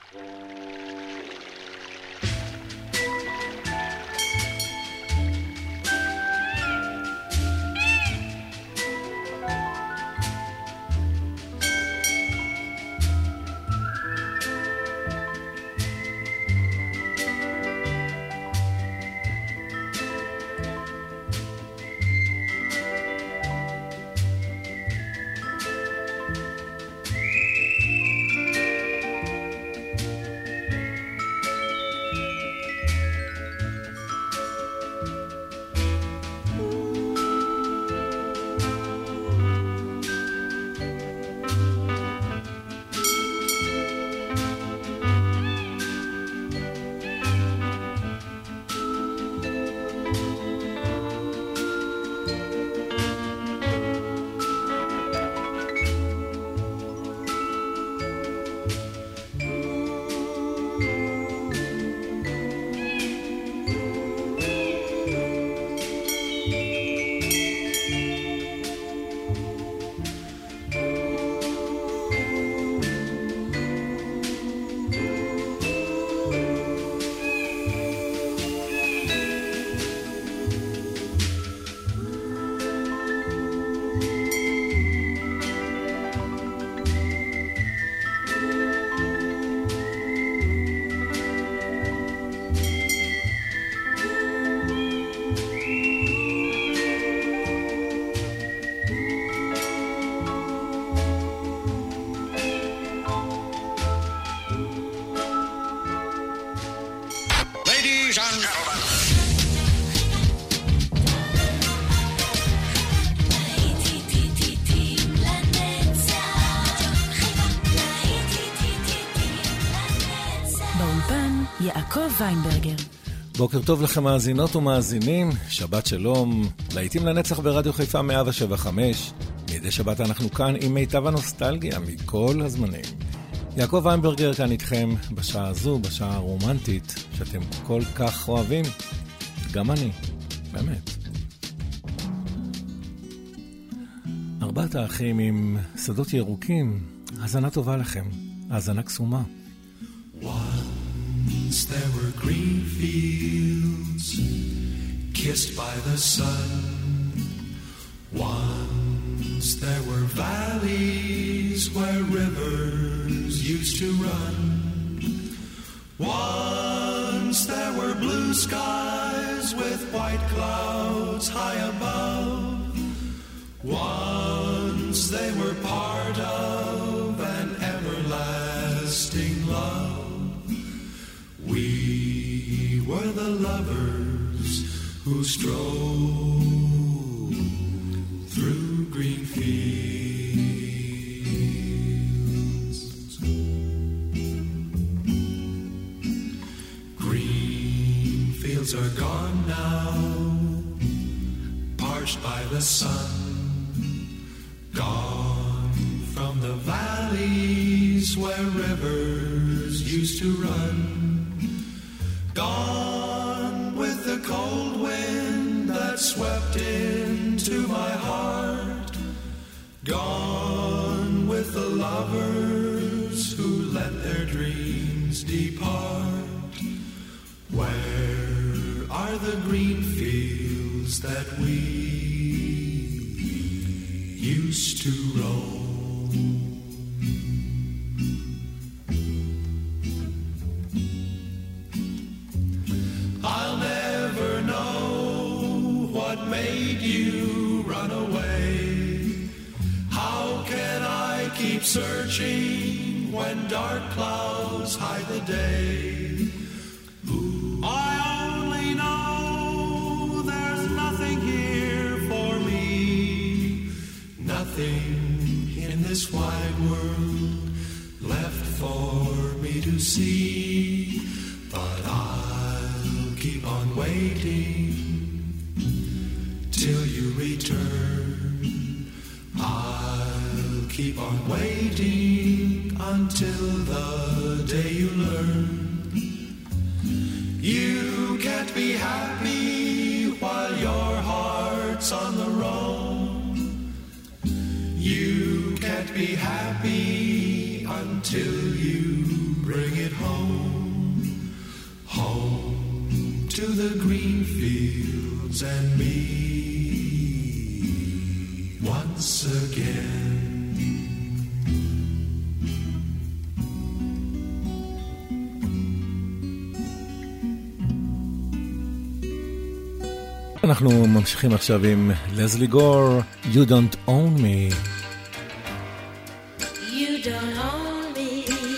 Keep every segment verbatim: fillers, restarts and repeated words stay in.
יעקב ויינברגר. בוקר טוב לכם מאזינות ומאזינים, שבת שלום, להיטים לנצח ברדיו חיפה מאה שבע חמש. מדי שבת אנחנו כאן עם מיטב הנוסטלגיה מכל הזמנים. יעקב ויינברגר כאן איתכם בשעה הזו, בשעה הרומנטית שאתם כל כך אוהבים, גם אני, באמת. ארבעת האחים עם שדות ירוקים, האזנה טובה לכם, האזנה קסומה. Once there were green fields kissed by the sun. Once there were valleys where rivers used to run. Once there were blue skies with white clouds high above. Once they were part of an everlasting love. We were the lovers who strolled through green fields. Green fields are gone now, parched by the sun. Gone from the valleys where rivers used to run. Gone with the cold wind that swept into my heart. Gone with the lovers who let their dreams depart. Where are the green fields that we used to roam? Made you run away? How can I keep searching when dark clouds hide the day? Ooh. I only know there's nothing here for me, nothing in this wide world left for me to see, but I'll keep on waiting till you return. I'll keep on waiting until the day you learn. You can't be happy while your heart's on the roam. You can't be happy until you bring it home, home to the green fields and me once again. אנחנו ממשיכים עכשיו עם לזלי גור, You Don't Own Me. You don't own me.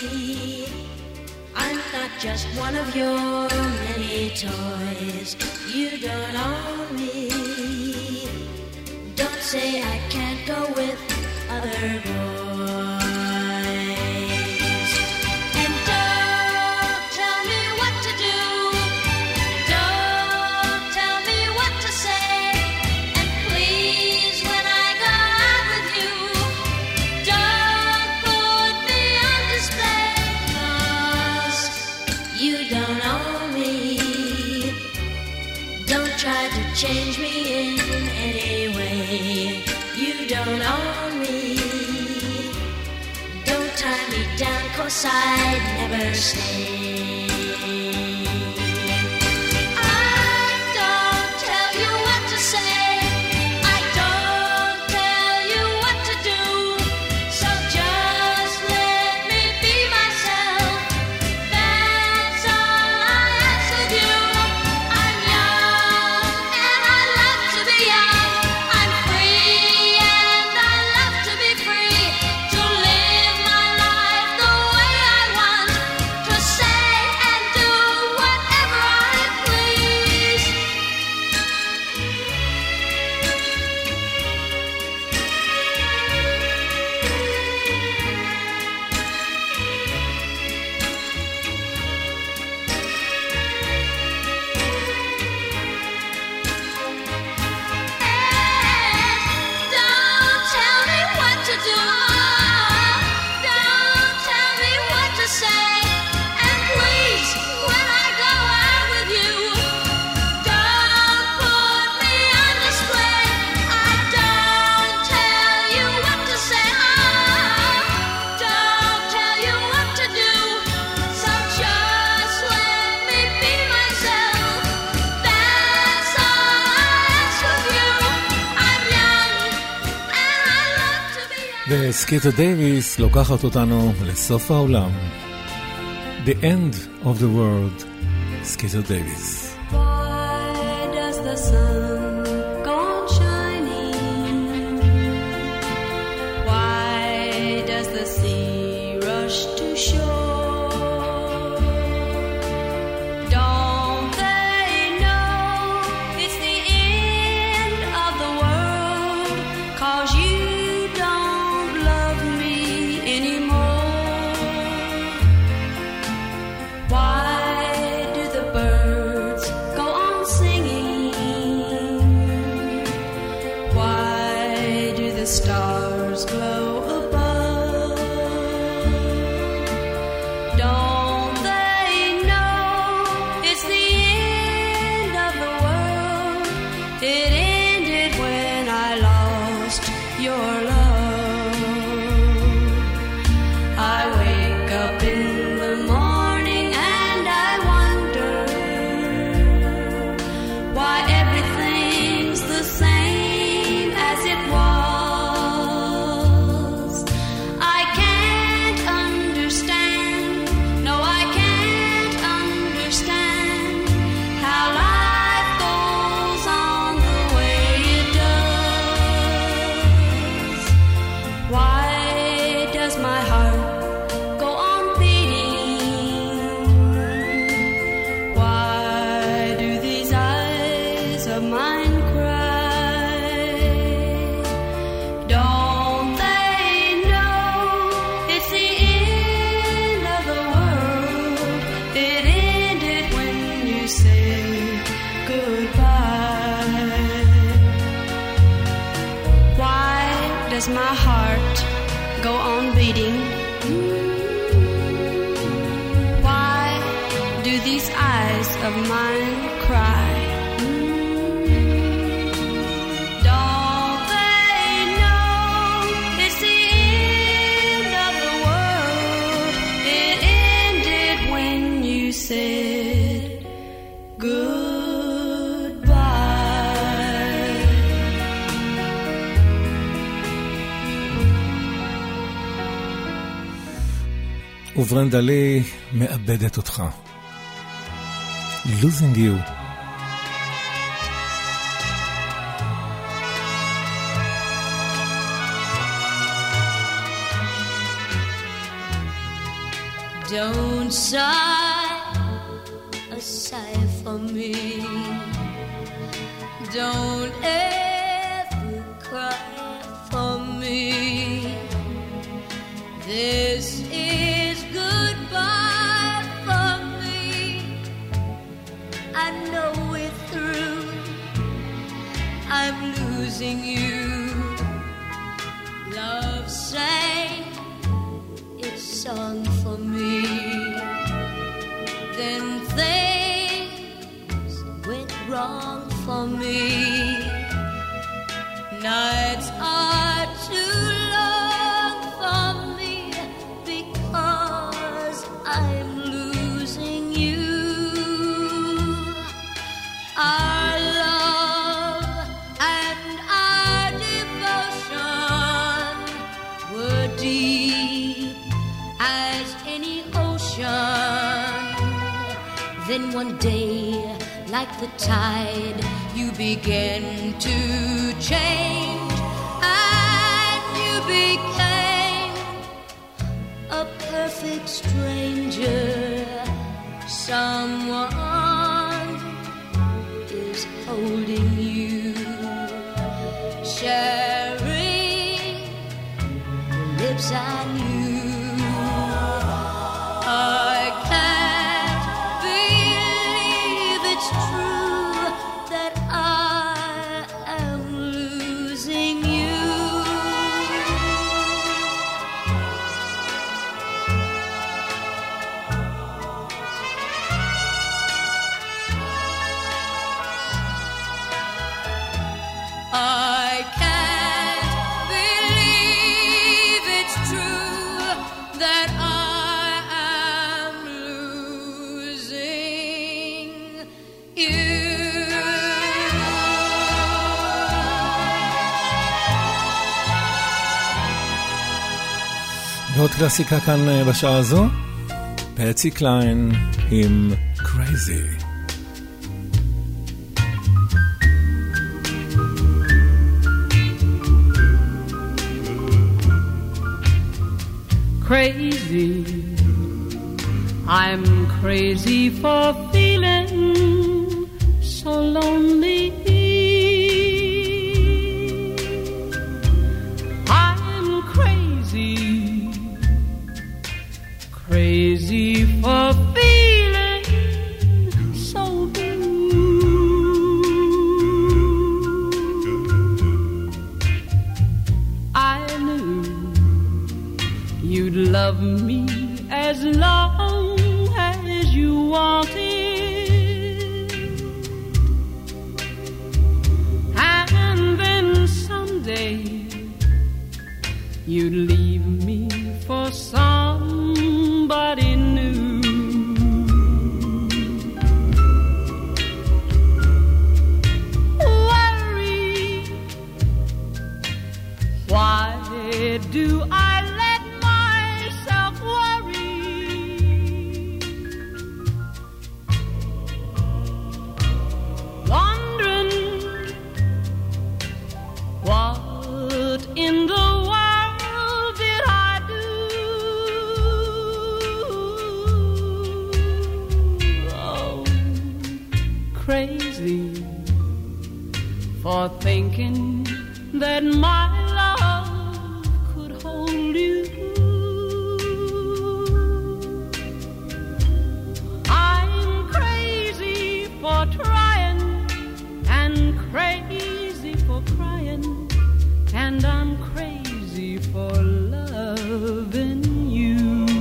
I'm not just one of your many toys. You don't own me. Don't say I can't go with other boys. And don't tell me what to do. Don't tell me what to say. And please, when I go out with you, don't put me on display. 'Cause you don't own me. Don't try to change me in any way. You don't own me. Don't tie me down, 'cause I'd never stay. I don't tell you what to say. I don't tell you what to do. So just let me be myself. That's all I ask of you. I'm young and I love to be young. I'm free and I love to be free. To live my life the way I want. To say and do whatever I please. Don't tell me what to do. Don't tell me what to say. And please, when I go out with you, don't put me on display. I don't tell you what to say. Don't tell you what to do. So just let me be myself. That's all I ask of you. I'm young and I love to be young. וסקיטו דייביס לוקחת אותנו לסוף העולם. The End of the World, סקיטו דייביס. Why does the sun go on shining? Why does the sea rush to shore? Don't they know it's the end of the world? 'Cause you don't love me anymore. Why do the birds go on singing? Why do the stars glow above? Don't they know it's the end of the world? It ended when I lost your love. I wake up in the morning and I wonder why everything's the same as it was. I can't understand, no I can't understand how life goes on the way it does. Why does my heart go on beating? Why do these eyes of mine cry? Don't they know it's the end of the world? It ended when you said goodbye. Why does my heart go on beating? Why do these eyes of mine cry? Don't they know it's the end of the world? It ended said goodbye. וברנדה לי מאבדת אותך. Losing you. Don't sigh a sigh for me. Don't ever cry for me. This is goodbye for me. I know it through. I'm losing you. Love sang its song for me. Then things went wrong for me. Nights are too long for me because I'm losing you. Our love and our devotion were deep as any ocean. Then one day, like the tide, you began to change, and you became a perfect stranger. Someone is holding you, sharing the lips I knew. I can't believe it's true that I am losing you. I can't believe it's true that I am losing you. ועוד קלאסיקה כאן בשעה הזו, פטסי קליין עם Crazy. Crazy, I'm crazy for feeling so lonely. I'm crazy, crazy for feeling so blue. I knew you'd love me as long as you wanted, and then someday you'd leave me for somebody new. Worry, why do I in the world did I do? Oh, crazy for thinking that my love could hold you. I'm crazy for trying and crazy for crying, and I'm crazy for loving you.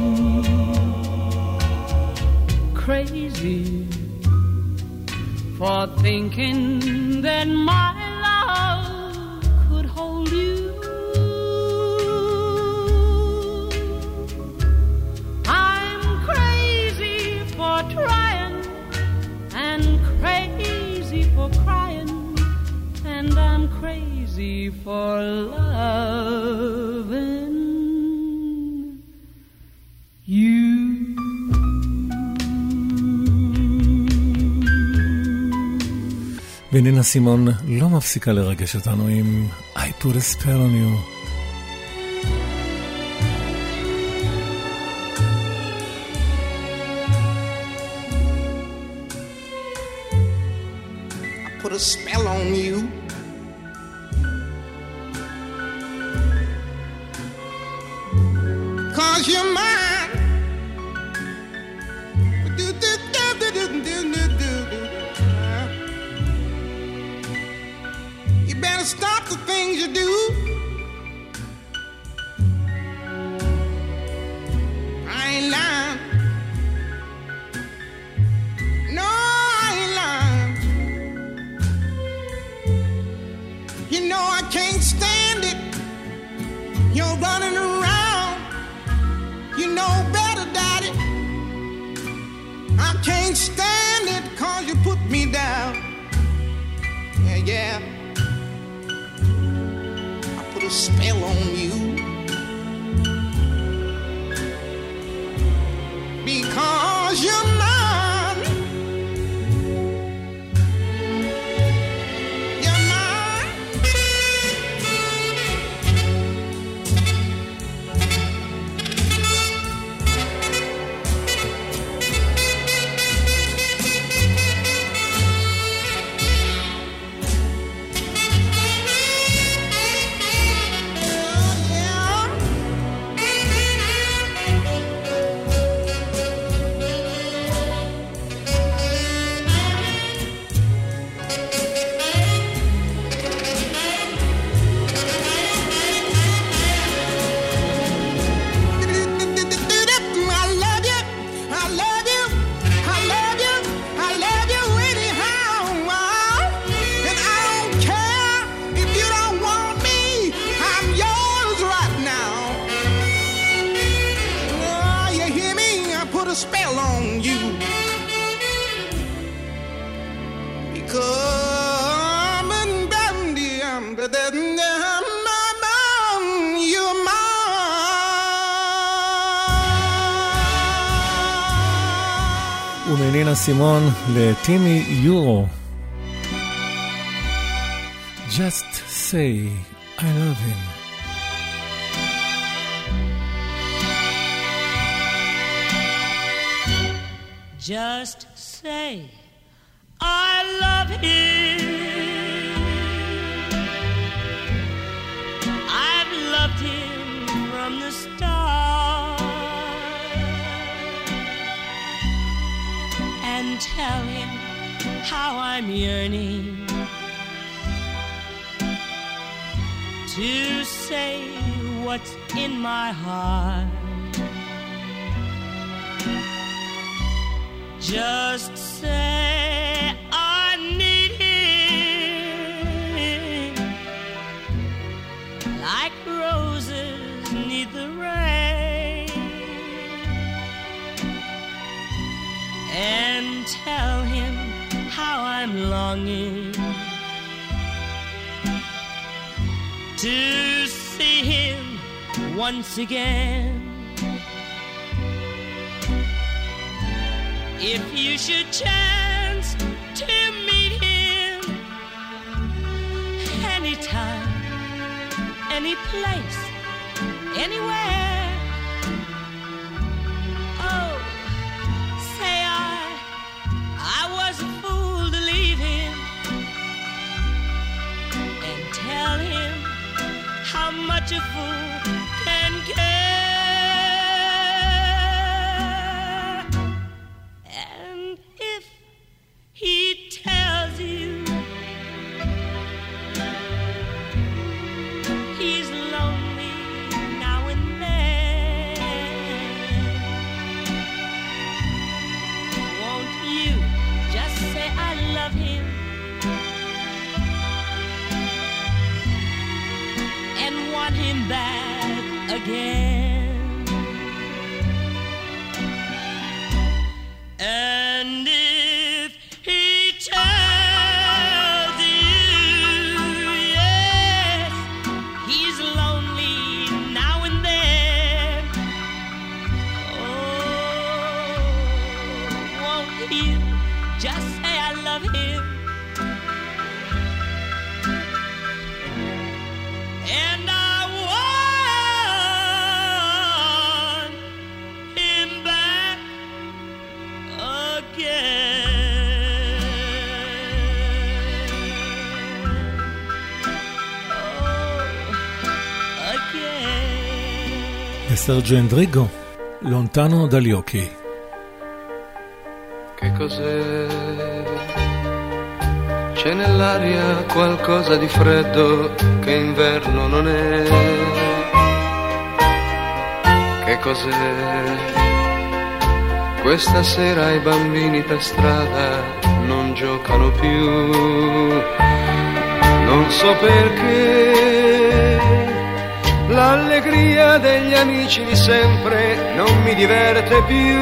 Crazy for thinking that my love could hold you. I'm crazy for trying be for loving you. ונינה סימון לא מפסיקה לרגש אותנו עם I put a spell on you. Put a spell on you. Cause you're mine. Do, do, do, do, do, do, do, do. You better stop the things you do. I ain't lying. No, I ain't lying. You know I can't stand it. You're running around. You know better, Daddy. I can't stand it 'cause you put me down. Yeah, yeah. I put a spell on you. Because you're mine. ומנינה סימון לטימי יורו. Just say I love him. Just say I love him. I've loved him from the start. And tell him how I'm yearning to say what's in my heart. Just say I need him like roses need the rain. And tell him how I'm longing to see him once again. If you should chance to meet him anytime, any place, anywhere, oh, say I, I was a fool to leave him, and tell him how much a fool can care. He tells you he's lonely now and then. Won't you just say I love him and want him back again? And if he tells you, yeah, feel, just say I love him. And I want him back again. Oh, again. E Sergio Endrigo, Lontano dagli occhi. Che cos'è? C'è nell'aria qualcosa di freddo che inverno non è. Che cos'è? Questa sera i bambini per strada non giocano più. Non so perché l'allegria degli amici di sempre non mi diverte più.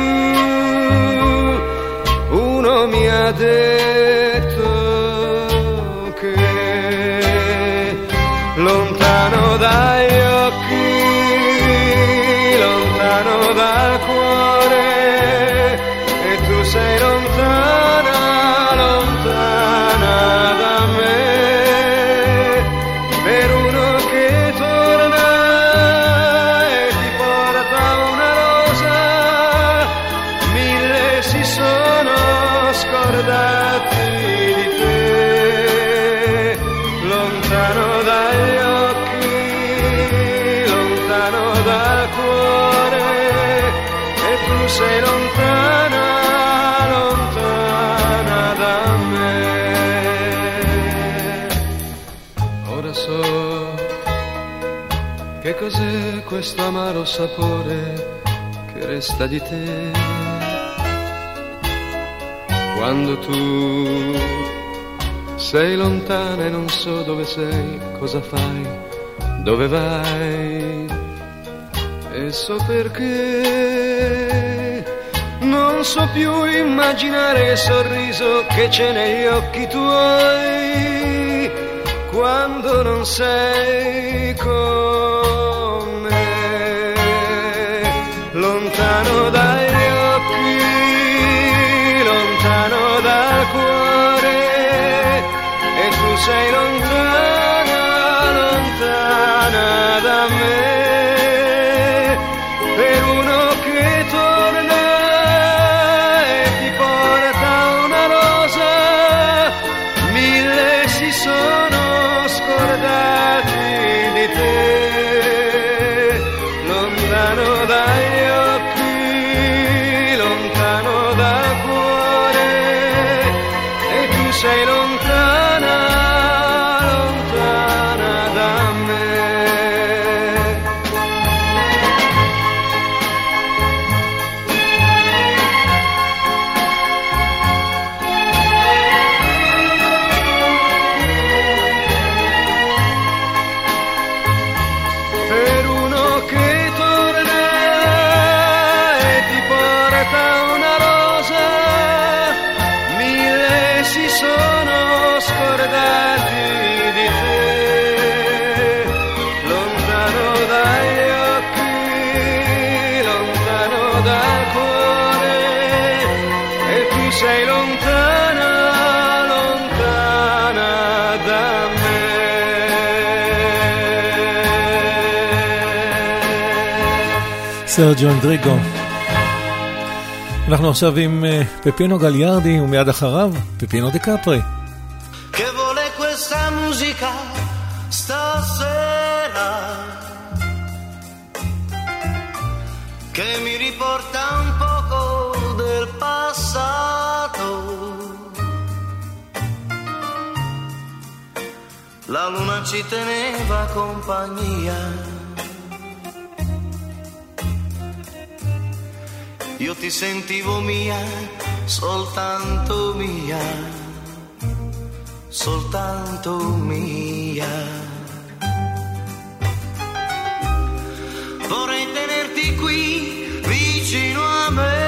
Uno mi ha detto che lontano dagli occhi, lontano dal cuore, e tu sei lontana, lontana da me, per uno che torna e ti porta una rosa, mille si sono scordati di te, lontano dagli occhi, lontano dal cuore, e tu sei lontana, lontana da me. Ora so che cos'è questo amaro sapore che resta di te. Quando tu sei lontana e non so dove sei, cosa fai, dove vai, e so perché non so più immaginare il sorriso che c'è negli occhi tuoi quando non sei con me, lontano dagli occhi, lontano dal cuore, e tu sei lontana, lontana da me, per uno che torna e ti porta una rosa, mille si sono scordati di te, lontano dagli occhi, lontano dal cuore, e tu sei lontana, lontana da me. Per uno che torna e ti porta una rosa, mille si sono scordati di te, lontano dagli occhi, lontano dal cuore, e tu sei lontana, lontana da me. סרג'ו אנדריגו. אנחנו עכשיו עם uh, פפינו גליארדי, ומיד אחריו פפינו דיקפרי. Che vuole questa musica stasera, che mi riporta un poco del passato. La luna ci teneva compagnia, io ti sentivo mia, soltanto mia, soltanto mia. Vorrei tenerti qui vicino a me,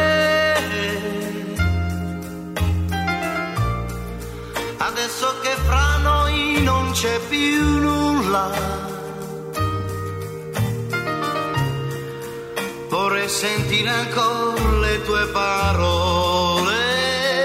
adesso che fra noi non c'è più nulla. Vorrei sentire ancora le tue parole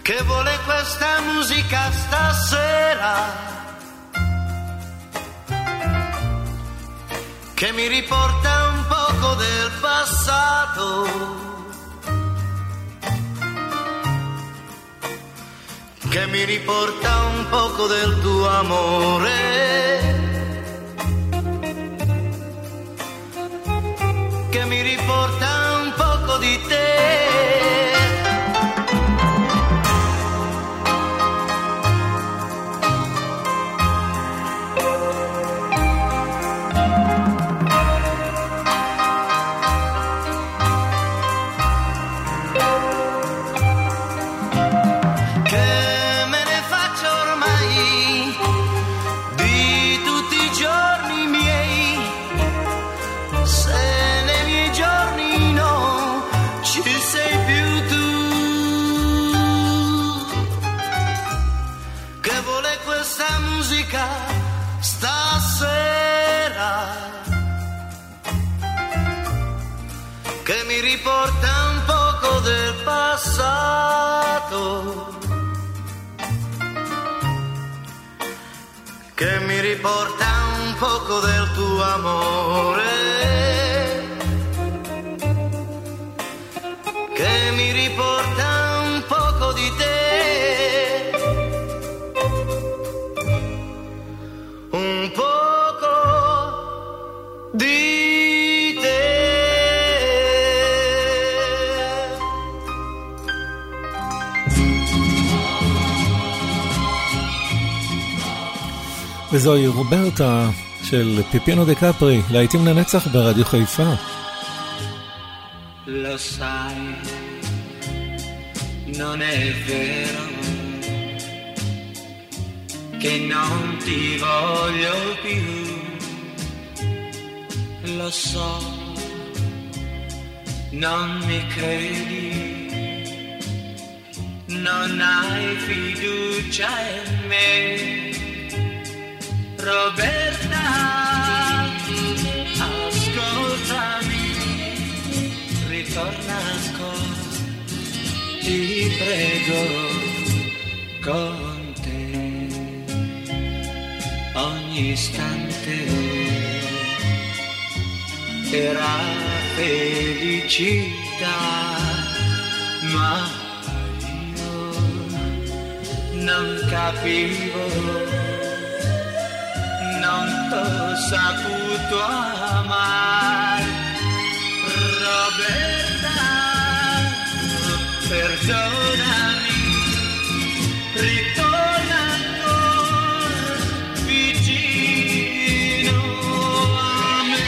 che vuole questa musica stasera, che mi riporta un poco del passato, che mi riporta un poco del tuo amore, che mi riporta un poco di te. Stasera che mi riporta un poco del passato, che mi riporta un poco del tuo amore, che mi riporta un poco di te. Un poco di te. וזוהי רוברטה של פיפינו דה קפרי, להיטים לנצח ברדיו חיפה. Lo sai, non è vero che non ti voglio più, lo so, non mi credi, non hai fiducia in me, Roberta, ascoltami, ritorna ancora, ti prego, con ogni istante era felicità, ma io non capivo, non t'ho saputo amare, Roberta, perdonami, ritorna ancora vicino a me.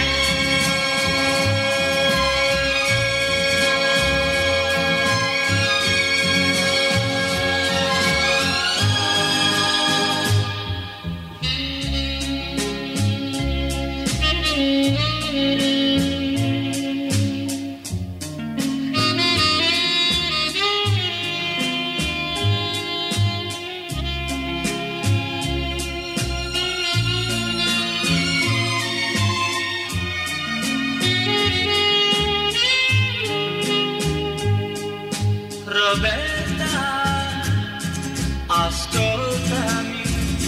Roberta, ascoltami,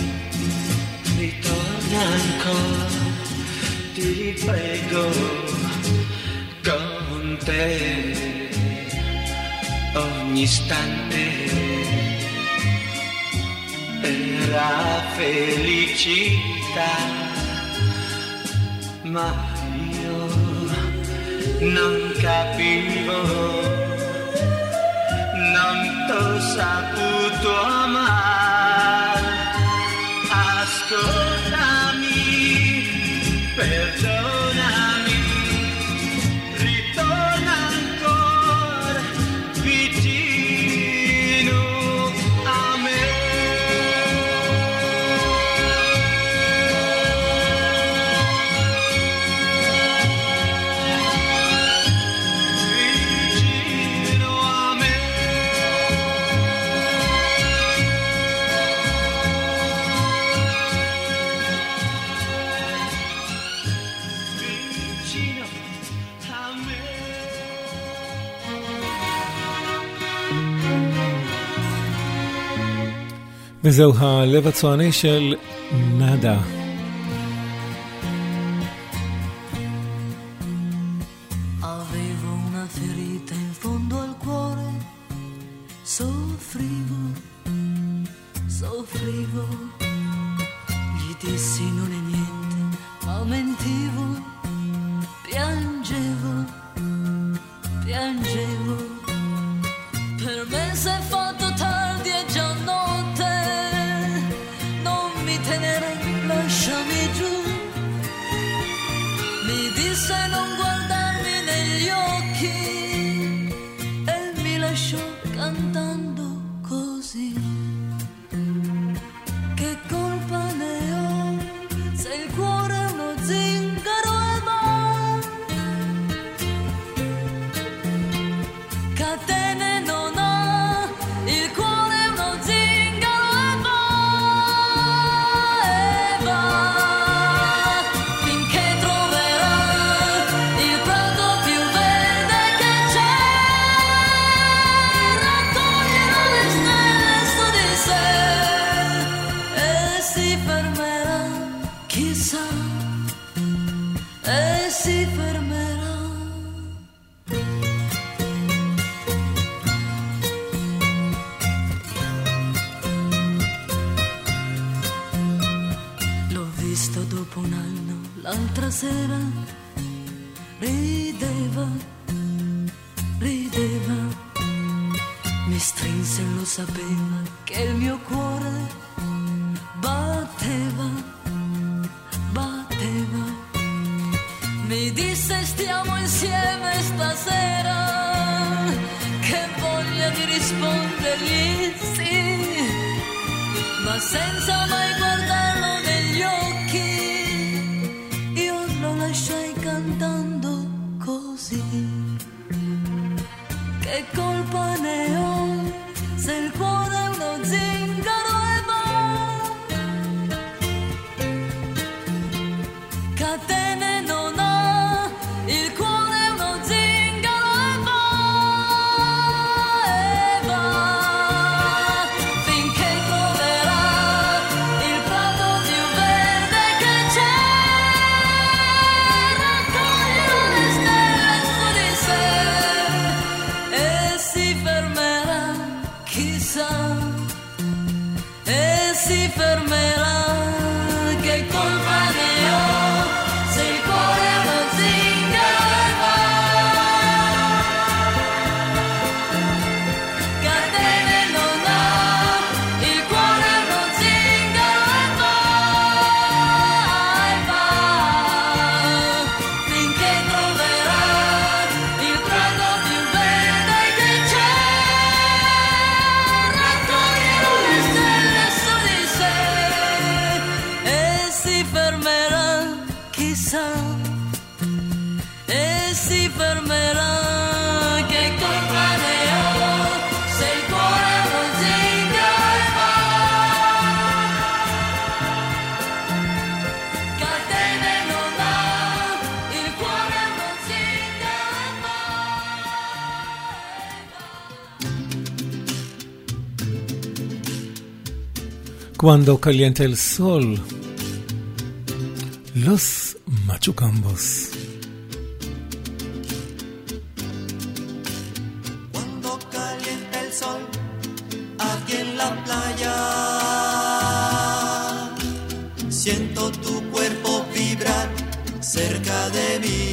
ritorna ancora, ti prego, con te ogni istante era felicità, ma io non capivo, non t'ho saputo amare, ascoltami, perdonami, ritorna ancora vicino a me. Vicino a me. וזהו הלב הצועני של נאדה. Avevo una ferita in fondo al cuore, soffrivo, soffrivo, gli dissi non è niente, ma mentivo, piangevo, piangevo, per me s'è fatto tardi e già notte, non mi tenere, lasciami giù, mi disse non guardarmi negli occhi e mi lasciò cantando così. Che colpa ne ho se il cuore è uno zingaro e va, catene non ha, il cuore è uno zingaro e va, e va, finché troverà il prato più verde che c'è, raccoglierà le stelle su di sé e si fermerà, chissà, e si fermerà. L'ho visto dopo un anno, l'altra sera, rideva, rideva, mi strinse e lo sapeva che il mio cuore batteva, batteva, mi disse stiamo insieme stasera, che voglia di rispondergli sì, ma senza mai guardarlo negli occhi, io lo lasciai cantando così. Che colpa ne ho se il cuore è uno zingaro e va, catene non ha, il cuore è uno zingaro e va, e va, finché troverà il prato più verde che c'è, raccoglierà le stelle su di sé e si fermerà, chissà, e si fermerà. Che colpa ne ho se il cuore è uno zingaro e va, catene non ha, il cuore è uno zingaro e va, e va, finché troverà il prato più verde che c'è, raccoglierà le stelle su di sé e si fermerà, chissà, e si fermerà. Che colpa ne ho se il cuore è uno zingaro e va, catene non ha, il cuore è uno zingaro e va. Cuando calienta el sol, los machucambos. Cuando calienta el sol aquí en la playa, siento tu cuerpo vibrar cerca de mí.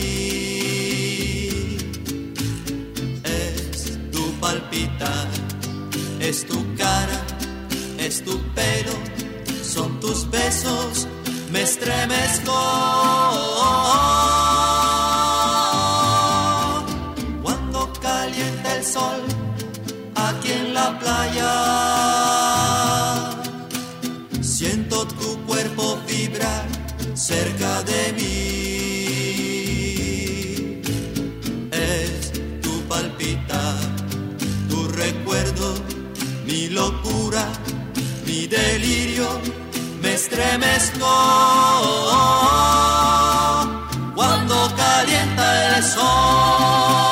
Es tu palpitar, es tu cara, es tu pelo, son tus besos, me estremezco. Cuando calienta el sol aquí en la playa, siento tu cuerpo vibrar cerca de mí. Es tu palpitar, tu recuerdo, mi locura, mi delirio, me estremezco. Cuando calienta el sol.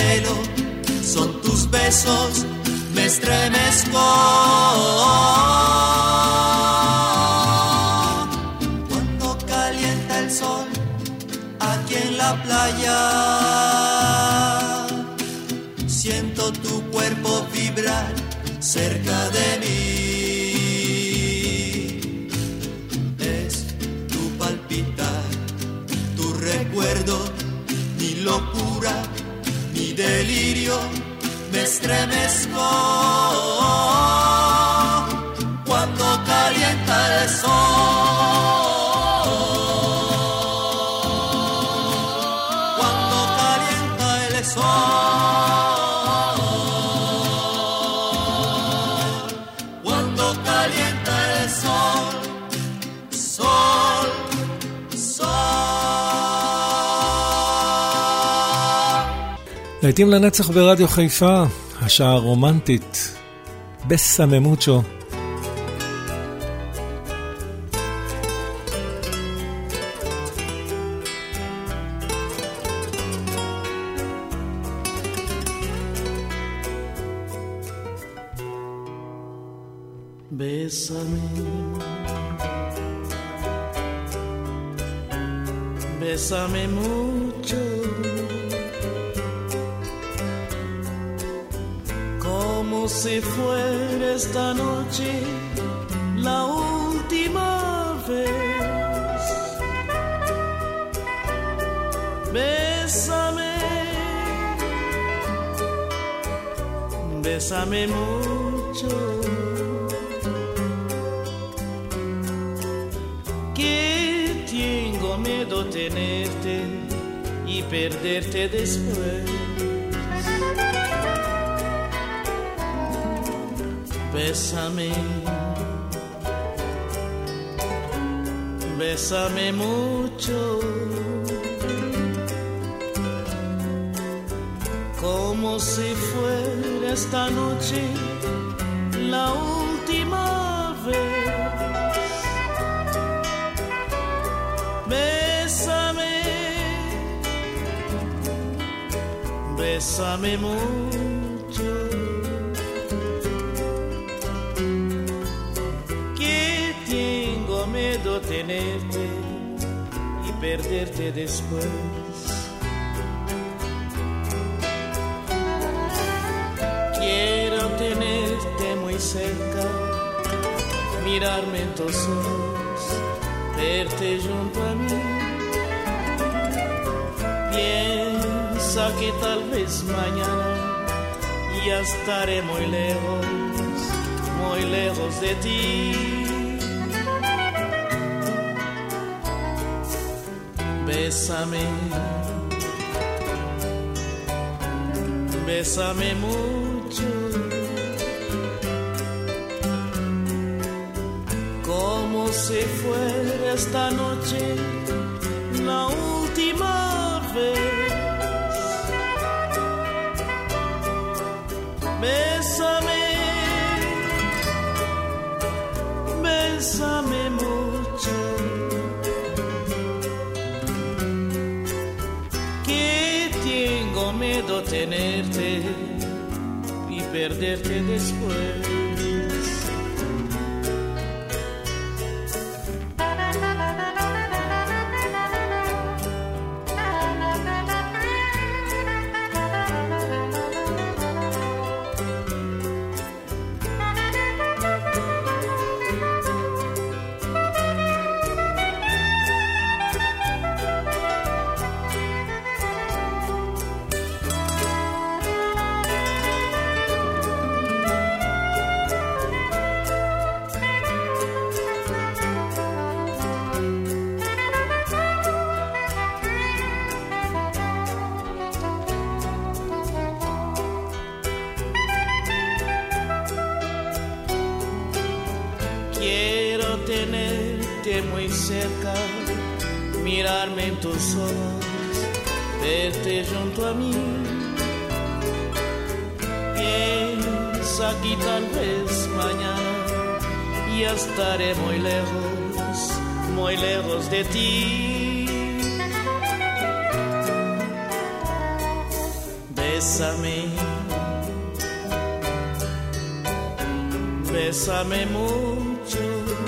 pelo, son tus besos, me estremezco. Cuando calienta el sol aquí en la playa, siento tu cuerpo vibrar cerca de mí. Es tu palpitar, tu recuerdo, mi locura, mi delirio, me estremezco. Cuando calienta el sol, cuando calienta el sol. להיטים לנצח ברדיו חיפה, השעה הרומנטית, בסמי מוצ'ו. Bésame, bésame mucho, como si fuera esta noche la última vez. Bésame, bésame mucho, que tengo miedo tenerte y perderte después. Bésame, bésame mucho, como si fuera esta noche la última vez. Bésame, bésame mucho, tenerte y perderte después. Quiero tenerte muy cerca, mirarme en tus ojos, verte junto a mí. Piensa que tal vez mañana ya estaré muy lejos, muy lejos de ti. Bésame, bésame mucho, como si fuera esta noche la última vez. Bésame, bésame mucho, miedo tenerte y perderte después. Muy cerca, mirarme en tus ojos, verte junto a mí. Piensa que tal vez mañana ya estaré muy lejos, muy lejos de ti. bésame, bésame mucho,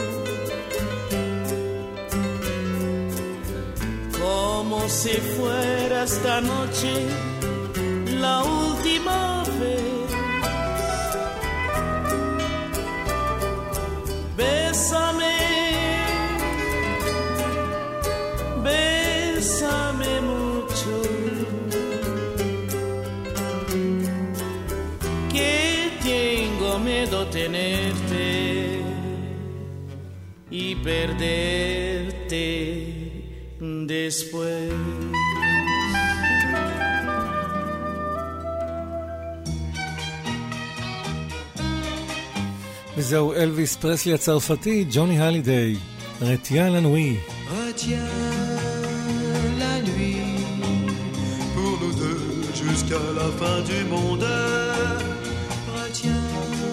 como si fuera esta noche la última vez. Bésame, bésame mucho, que tengo miedo tenerte y perderte después. וזהו אלוויס פרסלי הצרפתי, ג'וני הלידיי, רטיין לנוי. Retiens la nuit pour nous deux jusqu'à la fin du monde. Retiens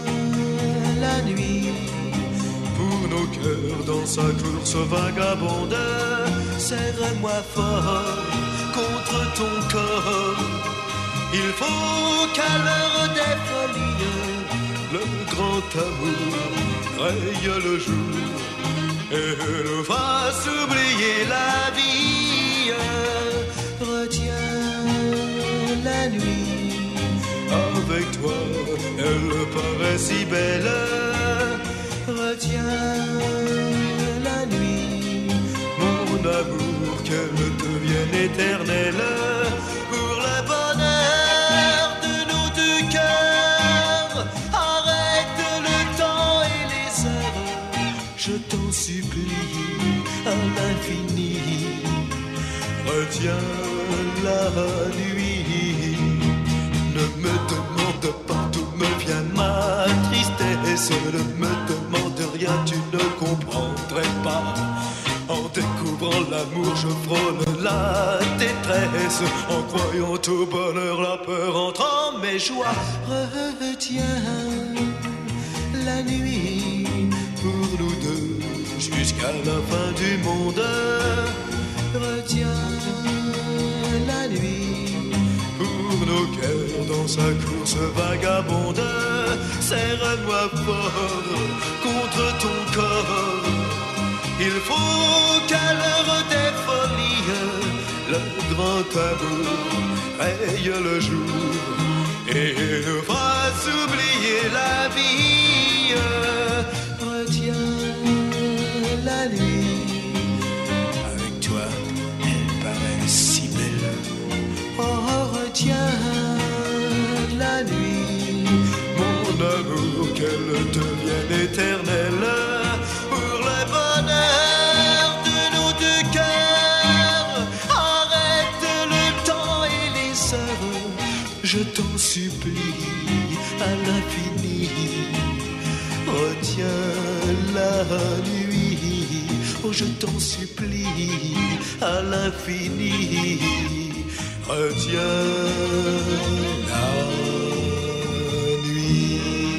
la nuit pour nos cœurs dans sa course vagabonde. Serre-moi fort contre ton corps. Il faut qu'à l'heure des folies le grand amour raye le jour et nous fasse oublier la vie. Retiens la nuit, avec toi elle paraît si belle. Retiens la nuit, mon amour, qu'elle devienne éternelle. Pour le bonheur de nos deux cœurs, arrête le temps et les heures, je t'en supplie à l'infini. Retiens la nuit, ne me demande pas d'où me vient ma tristesse, ne me demande rien, tu ne comprendrais pas. En découvrant l'amour, je frôle la détresse. En croyant au bonheur, la peur entre en mes joies. Retiens la nuit pour nous deux jusqu'à la fin du monde. Retiens la nuit pour nos cœurs dans sa course vagabonde. Serre-moi fort contre ton corps. Il faut qu'à l'heure des folies le grand amour raye le jour et nous fasse oublier la vie. Retiens la nuit, avec toi elle paraît si belle. Oh, retiens la nuit, mon amour, qu'elle devienne éternelle. Pour le bonheur de nos deux cœurs, arrête le temps et les heures, je t'en supplie à l'infini. Retiens la nuit, oh je t'en supplie à l'infini. Retiens la nuit.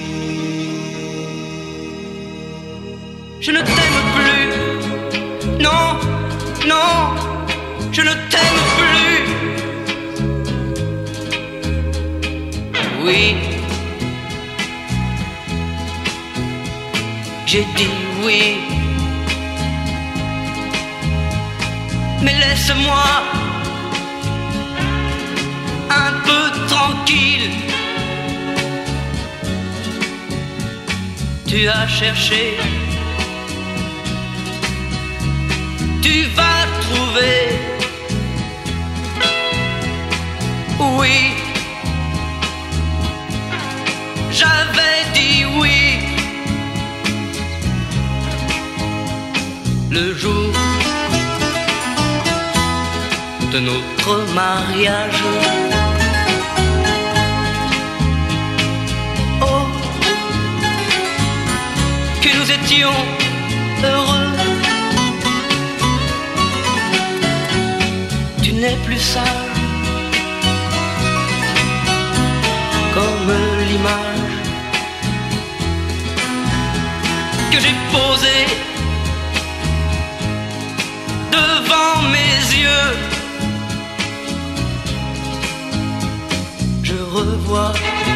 Je ne t'aime plus, non, non, je ne t'aime plus. Oui, j'ai dit oui, mais laisse-moi un peu tranquille. Tu as cherché, tu vas trouver. Oui, j'avais dit oui. Le jour de notre mariage, oh, que nous étions heureux. Tu n'es plus sage comme l'image que j'ai posée devant mes yeux. Je revois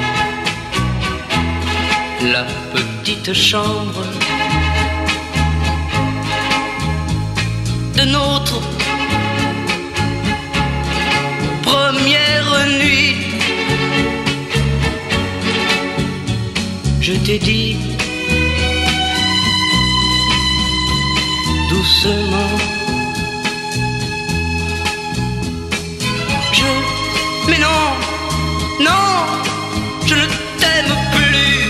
la petite chambre de notre première nuit. Je t'ai dit doucement, je... Mais non, non, je ne t'aime plus.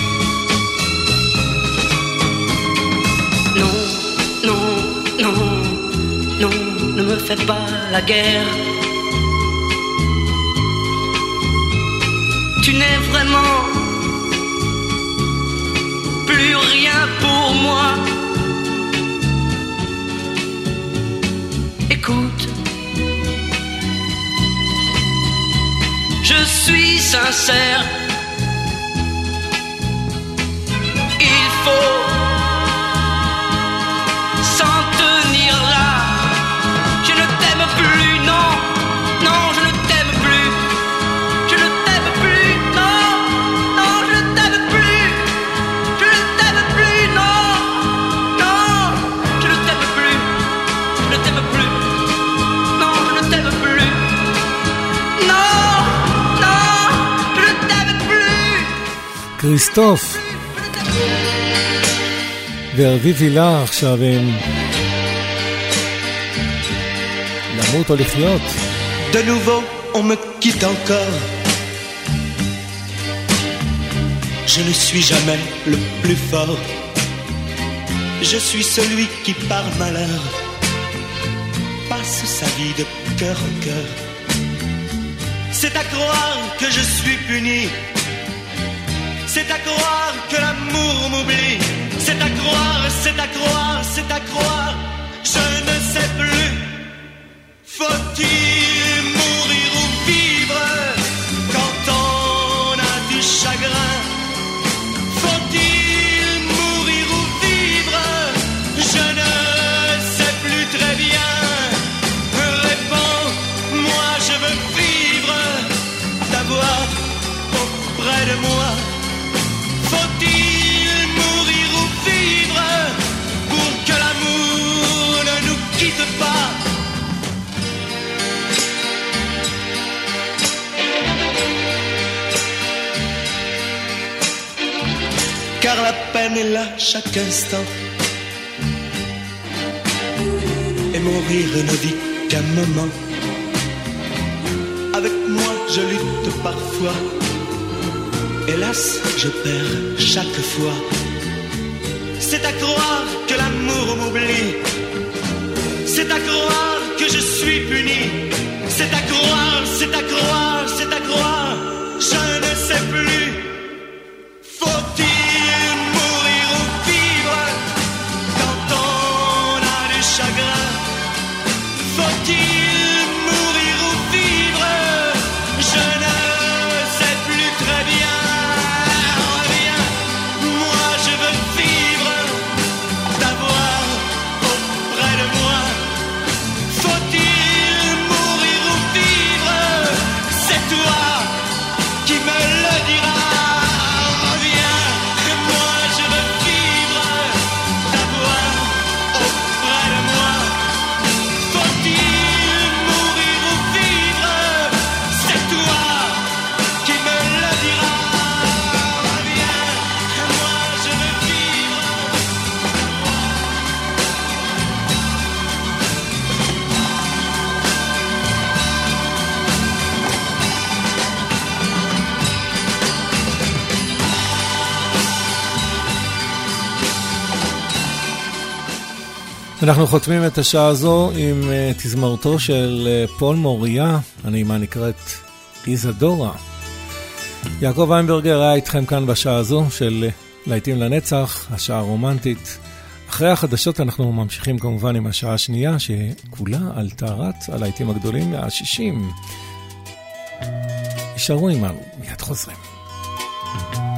Non, non, non, non, ne me fais pas la guerre. Tu n'es vraiment plus rien pour moi. Écoute, je suis sincère. Il faut s'en tenir là. Je ne t'aime plus, non, non, je ne t'aime plus. Je ne t'aime plus, non, non, je ne t'aime plus. Je ne t'aime plus, non, non, je ne t'aime plus. Je ne t'aime plus, non, je ne t'aime plus. Non, non, je ne t'aime plus. כריסטוף ואביב הילה עכשיו הם למות או לחיות. De nouveau, on me quitte encore. Je ne suis jamais le plus fort. Je suis celui qui, par malheur, passe sa vie de cœur en cœur. C'est à croire que je suis puni. C'est à croire que l'amour m'oublie. C'est à croire, c'est à croire, c'est à croire. Je ne sais plus. Faut-il mourir ou vivre quand on a du chagrin? Faut-il mourir ou vivre? Je ne sais plus très bien. Réponds, moi je veux vivre, t'avoir auprès de moi. Faut-il mourir ou vivre pour que l'amour ne nous quitte pas? Car la peine est là chaque instant, et mourir ne vit qu'un moment. Avec moi je lutte parfois, hélas je perds chaque fois. C'est à croire que l'amour m'oublie. C'est à croire que je suis puni. C'est à croire, c'est à croire, c'est à croire. Je ne sais plus. Faut-il mourir ou vivre quand on a du chagrin? Faut-il mourir ou vivre? Je ne sais plus très bien. Reviens, moi je veux vivre, t'avoir auprès de moi. Faut-il mourir ou vivre? C'est toi qui me le diras. אנחנו חותמים את השעה הזו עם uh, תזמורתו של uh, פול מוריה, הנעימה נקראת איזדורה. יעקב ויינברגר היה איתכם כאן בשעה הזו של uh, להיטים לנצח, השעה הרומנטית. אחרי החדשות אנחנו ממשיכים כמובן עם השעה השנייה שכולה על טהרת הלהיטים הגדולים מה-שישים. יישארו עימנו, מיד חוזרים.